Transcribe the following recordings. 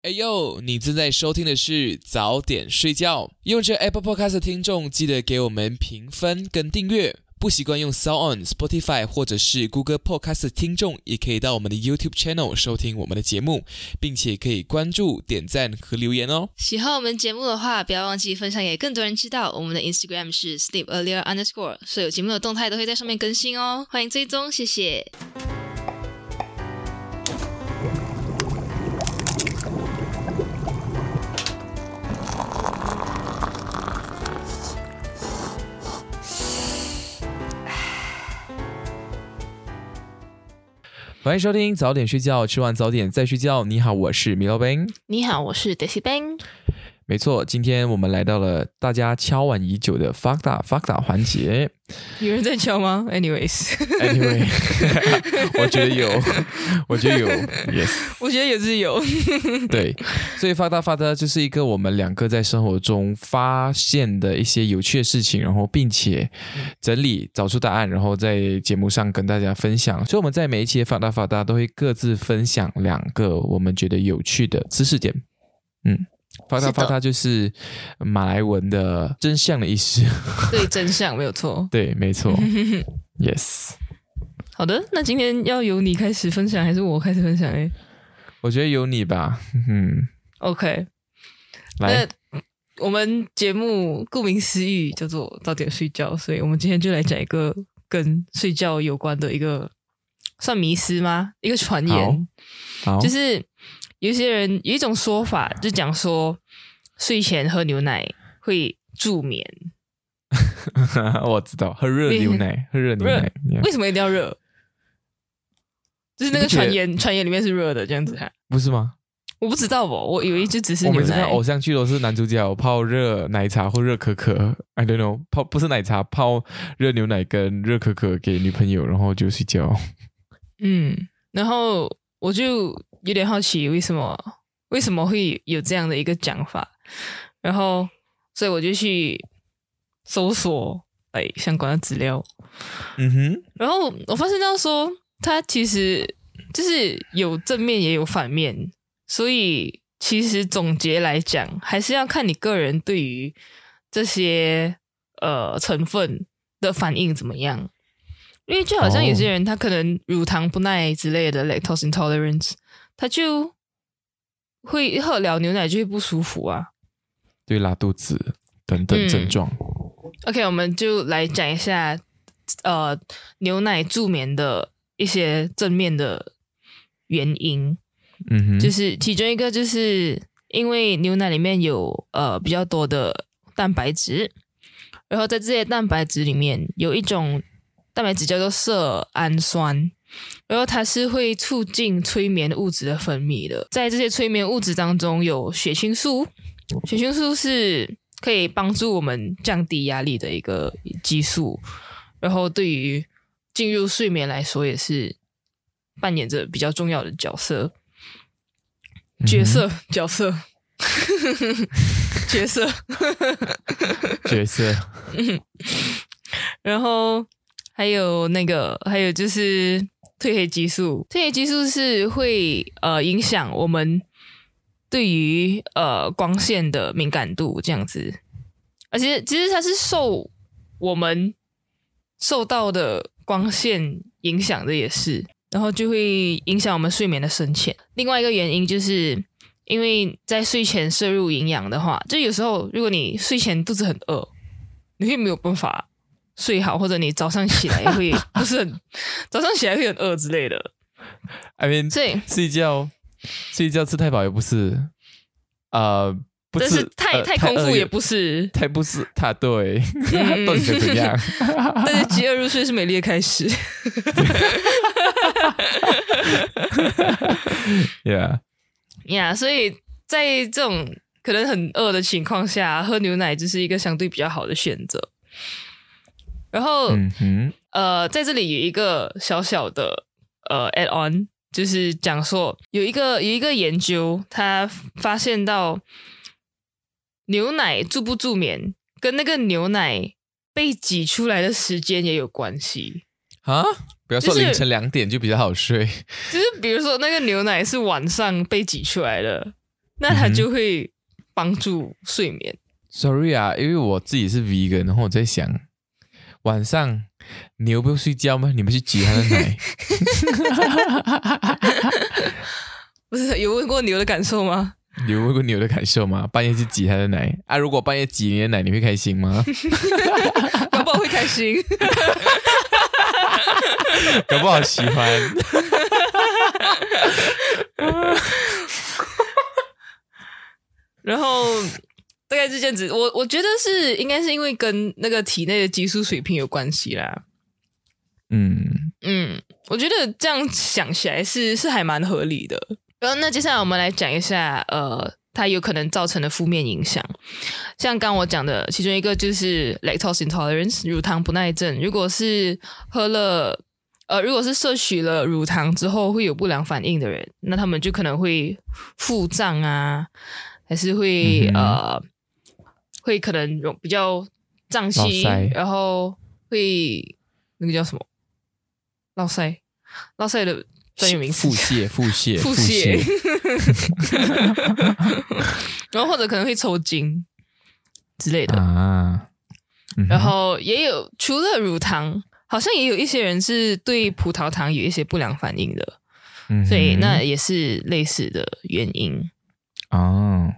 哎呦，你正在收听的是早点睡觉。用着 Apple Podcast 的听众，记得给我们评分跟订阅。不习惯用 SoundOn、Spotify 或者是 Google Podcast 的听众，也可以到我们的 YouTube Channel 收听我们的节目，并且可以关注、点赞和留言哦。 喜欢我们节目的话，不要忘记分享给更多人知道。我们的 Instagram 是 sleepearlier_，所有节目的动态都会在上面更新哦，欢迎追踪，谢谢。 欢迎收听早点睡觉，吃完早点再睡觉。你好，我是米老Ben。 你好，我是 Daisy Ben。 没错，今天我们来到了大家敲碗已久的 Fakta 环节。 有人在敲吗 ？Anyway， 我觉得有 ，Yes， 我觉得也是有。 对，所以Fakta 就是一个我们两个在生活中发现的一些有趣的事情，然后并且整理找出答案，然后在节目上跟大家分享。所以我们在每一期的Fakta都会各自分享两个我们觉得有趣的知识点。Fakta 就是马来文的真相的意思。 对，真相没有错。 对，没错。Yes。 好的，那今天要由你开始分享，还是我开始分享？ 我觉得由你吧。 OK， 来， 我们节目顾名思义叫做早点睡觉，所以我们今天就来讲一个跟睡觉有关的一个算迷思吗？一个传言， 好， 就是有些人有一种说法，就讲说睡前喝牛奶会助眠。 我知道，喝热牛奶， 为什么一定要热？就是那个传言里面是热的，这样子哈？ 不是吗？ 我不知道我以为就只是牛奶。 我每次看偶像剧都是男主角泡热奶茶或热可可 ，I don't know， 不是奶茶，泡热牛奶跟热可可给女朋友，然后就睡觉。 然后我就有点好奇为什么会有这样的一个讲法，然后所以我就去搜索相关的资料。然后我发现到说它其实就是有正面也有反面，所以其实总结来讲还是要看你个人对于这些成分的反应怎么样。因为就好像有些人他可能乳糖不耐之类的 lactose intolerance， 他就会喝了牛奶就会不舒服啊， 对，拉肚子等等症状。 OK， 我们就来讲一下牛奶助眠的一些正面的原因。就是其中一个就是因为牛奶里面有比较多的蛋白质，然后在这些蛋白质里面有一种蛋白质叫做色氨酸，然后它是会促进催眠物质的分泌的。在这些催眠物质当中有血清素，血清素是可以帮助我们降低压力的一个激素，然后对于进入睡眠来说也是扮演着比较重要的角色。然后还有就是褪黑激素。褪黑激素是会影响我们对于光线的敏感度这样子，而且其实它是受我们受到的光线影响的也是，然后就会影响我们睡眠的深浅。另外一个原因就是因为在睡前摄入营养的话，就有时候如果你睡前肚子很饿，你会没有办法睡好，或者你早上起来会早上起来会很饿之类的。 I mean， 睡觉吃太饱也不是，不是， 但是太空腹也不是， 太不是，对，到底想怎样？ 但是饥饿入睡是美丽的开始。Yeah， 所以在这种可能很饿的情况下，喝牛奶就是一个相对比较好的选择。然后在这里有一个小小的add on， 就是讲说有一个研究，他发现到牛奶助不助眠跟那个牛奶被挤出来的时间也有关系啊。不要说凌晨2点就比较好睡， 就是比如说那个牛奶是晚上被挤出来的， 那它就会帮助睡眠。 Sorry 啊，因为我自己是 vegan， 然后我在想，晚上牛不用睡觉吗？你们去挤它的奶？ 不是有问过牛的感受吗？ 你有问过牛的感受吗？半夜去挤它的奶啊？如果半夜挤你的奶，你会开心吗？ 搞不好会开心， 搞不好喜欢。 然后大概是这样子。我觉得应该是因为跟那个体内的激素水平有关系啦。我觉得这样想起来是还蛮合理的。然后那接下来我们来讲一下它有可能造成的负面影响。像刚我讲的其中一个就是 lactose intolerance 乳糖不耐症。如果是摄取了乳糖之后会有不良反应的人，那他们就可能会腹胀啊，还是会会可能比较胀气，然后会那个叫什么落腮的专有名词腹泻然后或者可能会抽筋之类的啊。 然后也有除了乳糖，好像也有一些人是对葡萄糖有一些不良反应的，所以那也是类似的原因哦。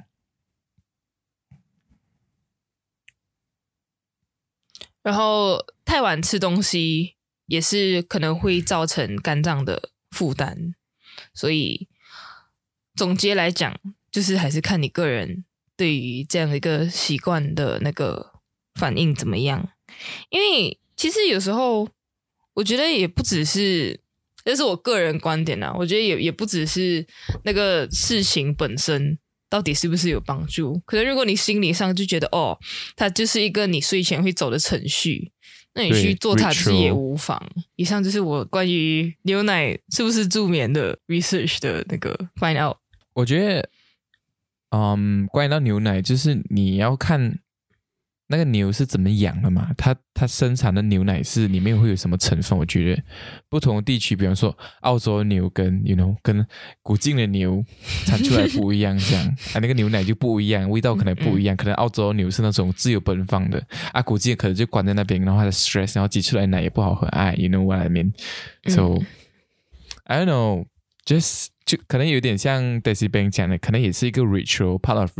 然后太晚吃东西也是可能会造成肝脏的负担，所以总结来讲，就是还是看你个人对于这样的一个习惯的那个反应怎么样。因为其实有时候我觉得也不只是，这是我个人观点啊，我觉得也不只是那个事情本身到底是不是有帮助，可能如果你心理上就觉得它就是一个你睡前会走的程序，那你去做它就是也无妨。以上就是我关于牛奶是不是助眠的 research 的那个 find out。 我觉得关于到牛奶，就是你要看那个牛是怎么养的嘛，它生产的牛奶是里面会有什么成分。我觉得不同的地区，比方说澳洲的牛跟跟古晋的牛产出来不一样，这样那个牛奶就不一样，味道可能不一样。可能澳洲的牛是那种自由奔放的古晋可能就关在那边，然后它的 stress， 然后挤出来的奶也不好喝。You know what I mean? So I don't know,就可能有点像 Daisy Bang 讲的，可能也是一个 ritual part of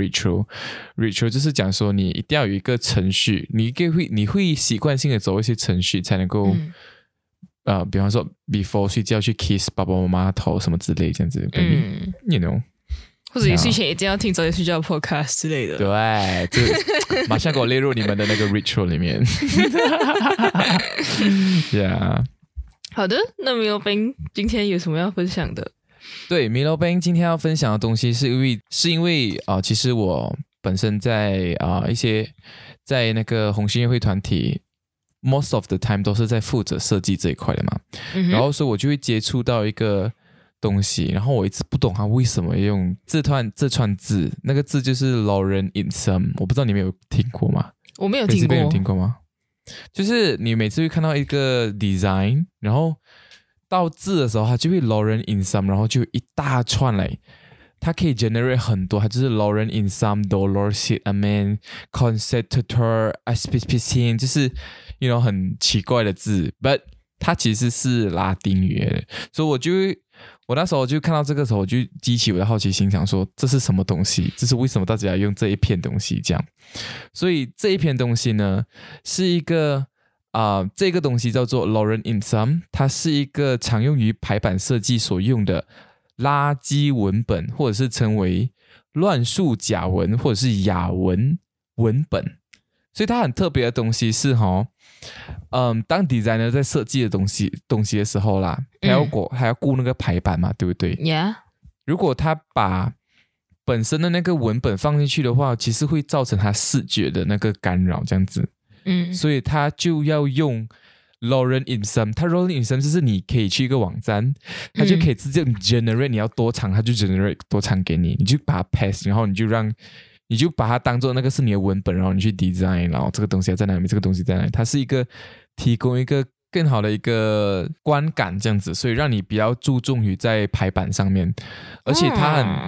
ritual 就是讲说你一定要有一个程序，你会习惯性的走一些程序才能够比方说 before 睡觉去 kiss 爸爸妈妈头什么之类这样子you know， 或者你睡前一定要听早点睡觉的 podcast 之类的。 对，就马上给我列入你们的那个 ritual 里面。Yeah。 好的，那Milo Bang今天有什么要分享的？ 对， Milo Bang 今天要分享的东西是因为其实我本身在一些在那个红星乐会团体 most of the time 都是在负责设计这一块的嘛，然后所以我就会接触到一个东西，然后我一直不懂它为什么用这串字，那个字就是 Lorem Ipsum， 我不知道你们有听过吗？ 我没有听过。 有听过吗？就是你每次会看到一个 design， 然后到字的时候它就会 Lorem Ipsum， 然后就一大串来，它可以 generate 很多，它就是 Lorem Ipsum Dolor Sit Amen Concertator Aspicin， 就是很奇怪的字 but 它其实是拉丁语的，所以我那时候就看到这个时候，我就激起我的好奇心，想说这是什么东西，这是为什么大家要用这一片东西这样。所以这一片东西呢是一个这个东西叫做 Lorem Ipsum， 它是一个常用于排版设计所用的垃圾文本，或者是称为乱数甲文或者是亚文文本。所以它很特别的东西是当 designer 在设计的东西的时候啦，他要顾那个排版嘛，对不对？ Yeah。 如果他把本身的那个文本放进去的话，其实会造成他视觉的那个干扰这样子。所以他就要用 Lorem Ipsum。 它 Lorem Ipsum 就是你可以去一个网站，它就可以直接 generate 你要多长，它就 generate 多长给你，你就把它 pass， 然后你就把它当做那个是你的文本，然后你去 design， 然后这个东西要在哪里，这个东西在哪里，它是一个提供一个更好的一个观感这样子，所以让你比较注重于在排版上面，而且它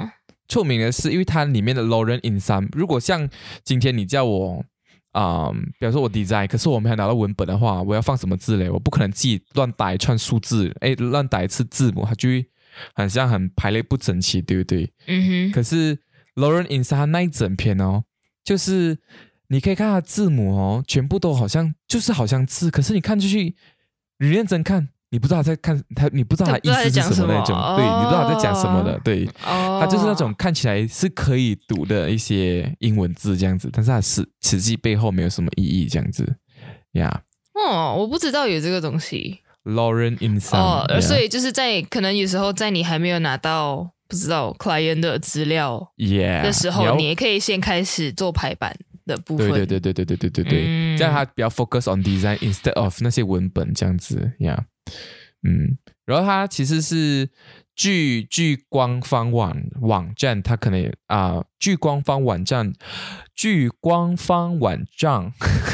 出名的是因为它里面的 Lorem Ipsum， 如果像今天你叫我比方说我 design， 可是我没有拿到文本的话，我要放什么字嘞？我不可能自己乱打一串数字，乱打一次字母，它就会很像很排列不整齐，对不对？可是 Lorem Ipsum 它那一整篇哦，就是你可以看它的字母哦，全部都好像字，可是你看进去，你认真看。你不知道他在看他，你不知道他意思是什么那种，对，你不知道他在讲什么的，对，他就是那种看起来是可以读的一些英文字这样子，但是它实际背后没有什么意义这样子，呀。 我不知道有这个东西。 Lorem Ipsum， 所以就是可能有时候在你还没有拿到不知道 client 的资料的时候，你也可以先开始做排版的部分。 对，这样他比较 focus on design instead of 那些文本这样子呀。然后它其实是据官方网站，它可能据官方网站据官方网站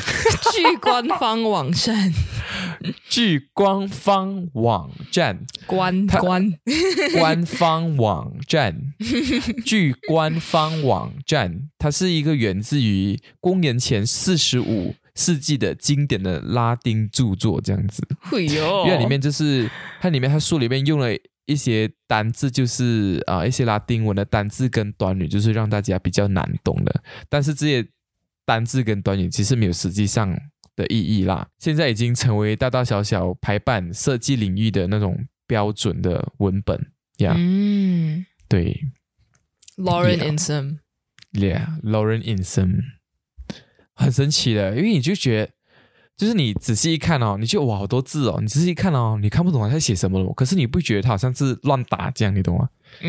它是一个源自于公元前45世纪的经典的拉丁著作这样子，因为里面就是它书里面用了一些单字，就是一些拉丁文的单字跟短语，就是让大家比较难懂的，但是这些单字跟短语其实没有实际上的意义啦，现在已经成为大大小小排版设计领域的那种标准的文本呀。对 Lorem Ipsum Lorem Ipsum很神奇的，因为你就觉得，就是你仔细一看哦，你就哇好多字哦，你仔细一看哦，你看不懂他在写什么了，可是你不觉得他好像是乱打这样，你懂吗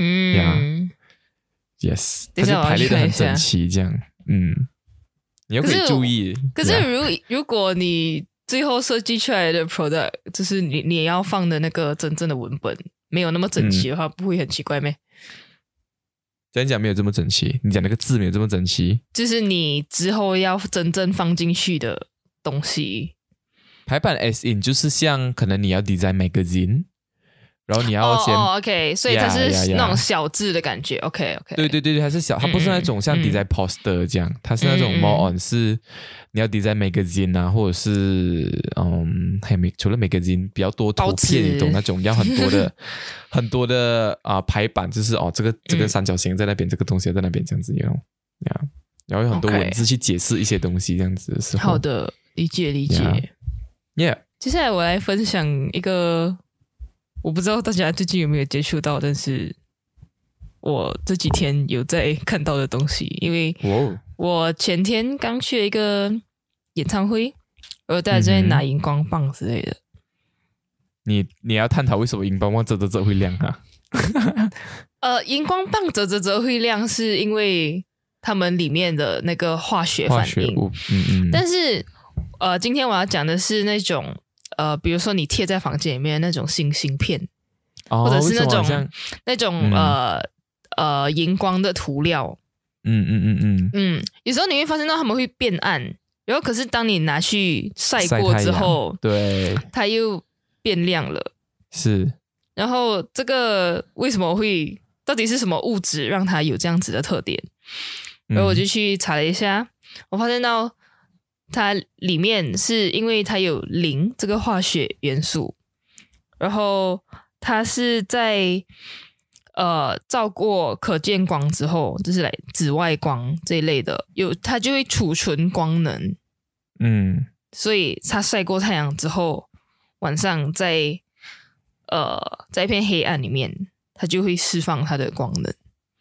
？Yes， 他就排列的很整齐这样，你又可以注意。 可是如果你最后设计出来的 product， 就是你也要放的那个真正的文本没有那么整齐的话，不会很奇怪咩？ 讲没有这么整齐，你讲那个字没有这么整齐， 就是你之后要真正放进去的东西。 排版 as in 就是像可能你要 design magazine， 然后你要先 OK， 所以它是那种小字的感觉。OK， 对，它是小，它不是那种像 design poster 这样，它是那种 more on 是你要 design magazine 啊，或者是除了 magazine 比较多图片，你懂那种要很多的排版，就是这个三角形在那边，这个东西在那边这样子，然后有很多文字去解释一些东西这样子的时候。 好的，理解。接下来我来分享一个，我不知道大家最近有没有接触到，但是我这几天有在看到的东西，因为我前天刚去了一个演唱会，然后大家在拿荧光棒之类的。 你要探讨为什么荧光棒折会亮啊？ 荧光棒折会亮，是因为他们里面的那个化学反应。但是今天我要讲的是那种比如说你贴在房间里面的那种星星片，或者是那种荧光的涂料。有时候你会发现到他们会变暗，然后可是当你拿去晒过之后， 对， 它又变亮了。 是。 然后这个为什么会，到底是什么物质让它有这样子的特点？然后我就去查了一下，我发现到它里面是因为它有磷这个化学元素，然后它是在照过可见光之后，就是来紫外光这一类的，它就会储存光能。所以它晒过太阳之后，晚上在一片黑暗里面，它就会释放它的光能。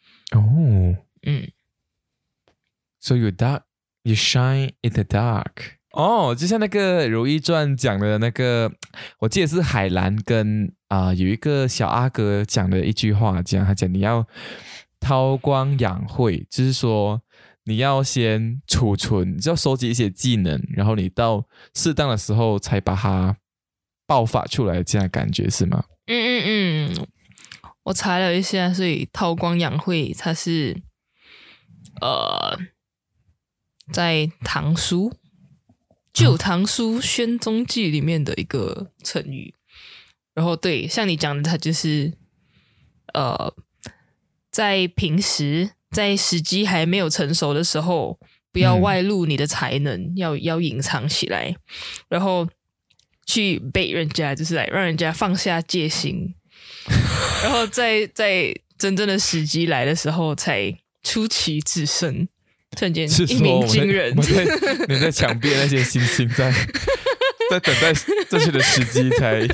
So you shine in the dark。就像那个《如懿传》讲的那个，我记得是海兰跟有一个小阿哥讲的一句话，他讲你要韬光养晦，就是说你要先储存，你就要收集一些技能，然后你到适当的时候才把它爆发出来，这样的感觉是吗？ 我查了一下，所以韬光养晦它是在唐书旧唐书宣宗记里面的一个成语。然后对，像你讲的，它就是在平时在时机还没有成熟的时候，不要外露你的才能，要隐藏起来，然后去bait人家，就是来让人家放下戒心，然后在真正的时机来的时候才出奇制胜，瞬间一鸣惊人。 你在墙壁那些星星在等待正确的时机才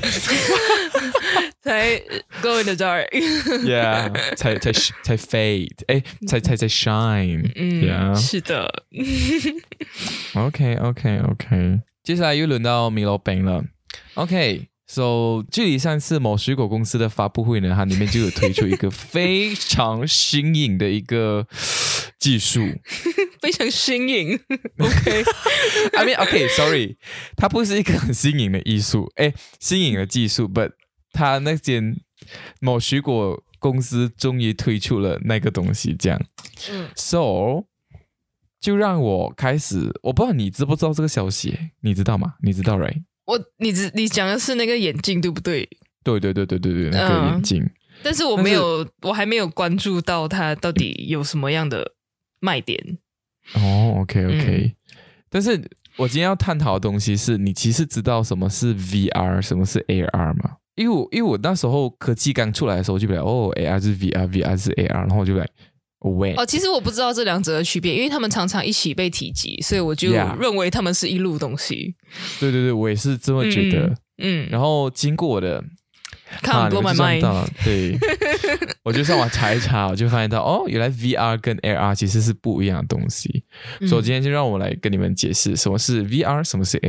go in the dark ，yeah， 才 fade， 才 shine， yeah， 是的。 OK， 接下来又轮到米罗饼了。OK，so 距离上次某水果公司的发布会呢，它里面就有推出一个非常新颖的一个技术， 非常新颖。OK，I mean OK，sorry， 它不是一个很新颖的艺术，新颖的技术 ，but 它那间某水果公司终于推出了那个东西，这样，so 就让我开始，我不知道你知不知道这个消息，你知道吗？你知道 right？ 你讲的是那个眼镜对不对？ 对，那个眼镜。 但是我还没有关注到它到底有什么样的卖点。 OK，但是我今天要探讨的东西是你其实知道什么是 VR， 什么是 AR 吗？因为我那时候科技刚出来的时候，我就比如AR 是 VR 是 AR， 然后我就来其实我不知道这两者的区别，因为他们常常一起被提及，所以我就认为他们是一路东西。 对，我也是这么觉得。然后经过我的 Can't blow my mind， 对，我就上网查一查，我就发现到原来 VR 跟 AR 其实是不一样的东西。所以今天就让我来跟你们解释什么是 VR， 什么是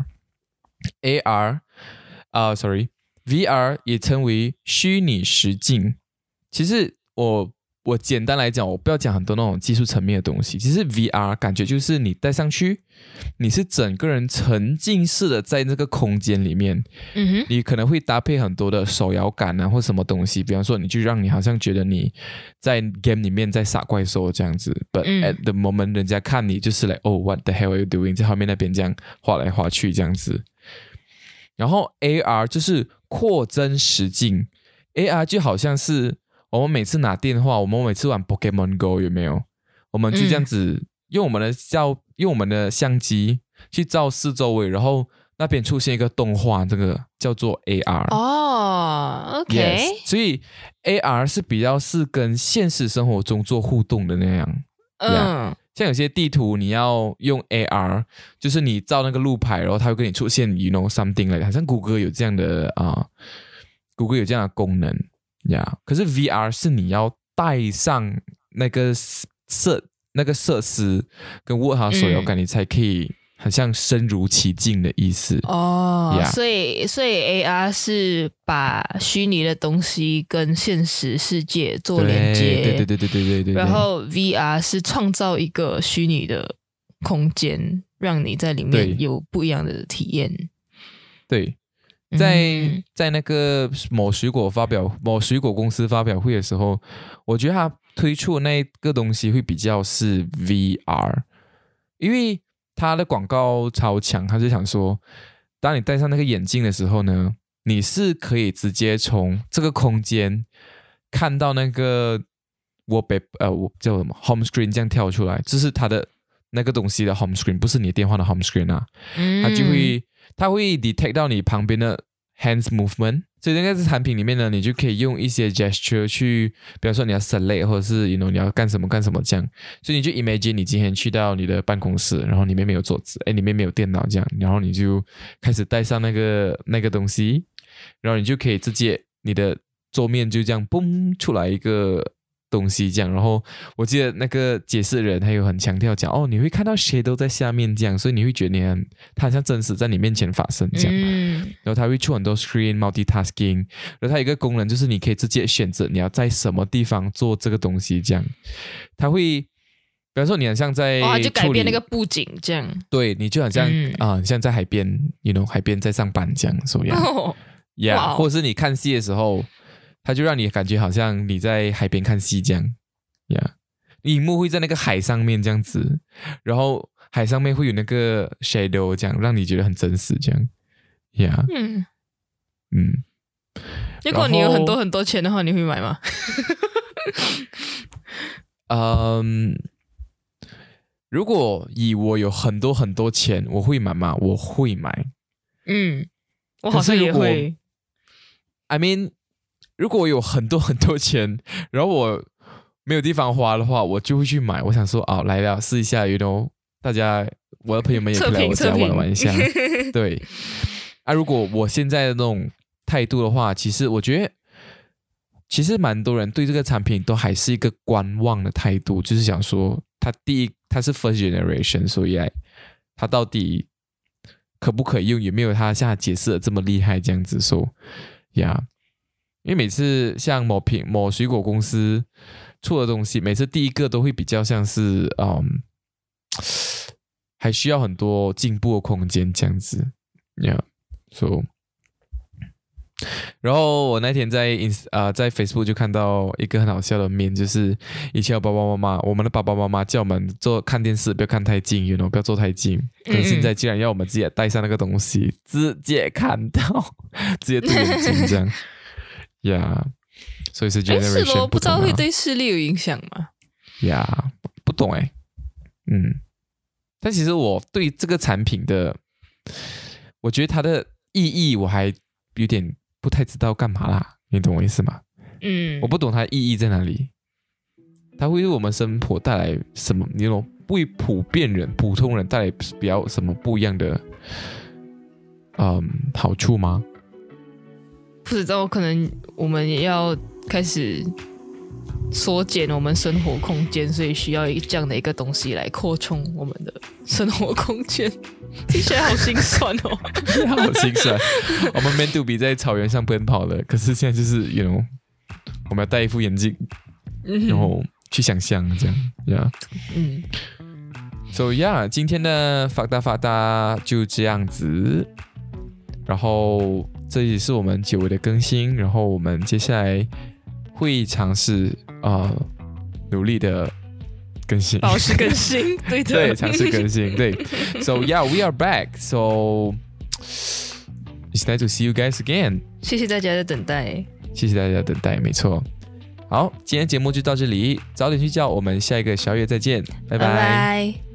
AR。VR 也称为虚拟实境。其实我简单来讲，我不要讲很多那种技术层面的东西。其实 VR 感觉就是你戴上去，你是整个人沉浸式的在那个空间里面。你可能会搭配很多的手摇感啊，或什么东西。比方说，你就让你好像觉得你在 game 里面在杀怪兽这样子。But at the moment， 人家看你就是来what the hell are you doing？ 在后面那边这样画来画去这样子。然后 AR 就是扩增实境。AR 就好像是我们每次拿电话，我们每次玩 Pokemon Go 有没有？我们就这样子用我们的相机去照四周围，然后那边出现一个动画，这个叫做 AR。 OK， yes， 所以 AR 是比较是跟现实生活中做互动的那样。像有些地图你要用 AR， 就是你照那个路牌，然后它会跟你出现 you know something like， 好像谷歌有这样的谷歌有这样的功能。可是 VR 是你要带上那个设施跟握好手摇感，你才可以很像身如其境的意思。 所以 AR 是把虚拟的东西跟现实世界做连接。 对。 然后 VR 是创造一个虚拟的空间，让你在里面有不一样的体验。 对。在那个某水果公司发表会的时候，我觉得他推出的那个东西会比较是 VR， 因为他的广告超强，他就想说，当你戴上那个眼镜的时候呢，你是可以直接从这个空间看到那个叫什么 home screen 这样跳出来，这是他的那个东西的 home screen， 不是你的电话的 home screen 啊。它会 detect 到你旁边的 hands movement， 所以那个产品里面呢，你就可以用一些 gesture 去，比方说你要 select 或者是你要干什么这样，所以你就 imagine 你今天去到你的办公室，然后里面没有桌子，里面没有电脑这样，然后你就开始带上那个东西，然后你就可以直接你的桌面就这样嘣出来一个东西这样。然后我记得那个解释人他有很强调讲你会看到谁都在下面这样，所以你会觉得他好像真实在你面前发生这样。然后他会出很多 screen multitasking， 然后他有一个功能就是你可以直接选择你要在什么地方做这个东西这样。他会比方说你好像在他就改变那个布景这样。 对，你就好像像在海边海边在上班这样所以或者是你看戏的时候，它就让你感觉好像你在海边看戏这样，荧幕会在那个海上面这样子，然后海上面会有那个 shadow 这样，让你觉得很真实这样， 如果你有很多很多钱的话，你会买吗？ 如果以我有很多很多钱，我会买吗？我会买。 我好像也会。 I mean， 如果我有很多很多钱，然后我没有地方花的话，我就会去买。我想说，来了，试一下 ，you know， 大家我的朋友们也可以来我家玩一下。对。如果我现在的那种态度的话，其实我觉得，其实蛮多人对这个产品都还是一个观望的态度，就是想说，它是 first generation， 所以它到底可不可以用，有没有它像它解释的这么厉害这样子说呀？因为每次像某水果公司出的东西，每次第一个都会比较像是还需要很多进步的空间这样子呀。然后我那天在 Facebook 就看到一个很好笑的面，就是以前我们的爸爸妈妈叫我们看电视不要看太近 you know， 不要坐太近，但现在竟然要我们自己带上那个东西，直接看到，直接对眼睛这样呀。所以是 generation 是咯，不知道会对视力有影响吗？ 呀，不懂但其实我对这个产品的，我觉得它的意义我还有点不太知道干嘛啦，你懂我意思吗？我不懂它的意义在哪里，它会为我们生活带来什么？你懂，为普通人带来比较什么不一样的好处吗？ 不知道，可能我们也要开始缩减我们生活空间，所以需要这样的一个东西来扩充我们的生活空间。听起来好心酸哦， 好心酸。我们 meant to be 在草原上奔跑的，可是现在就是 you know， 我们要戴一副眼镜，然后去想象这样So yeah， 今天的法达就这样子。然后这也是我们久违的更新，然后我们接下来会尝试努力的更新， 保持更新，对的， 对，尝试更新，对。So yeah, we are back. So it's nice to see you guys again. 谢谢大家的等待， 谢谢大家的等待，没错。好，今天节目就到这里，早点睡觉，我们下一个宵夜再见，拜拜。 拜拜。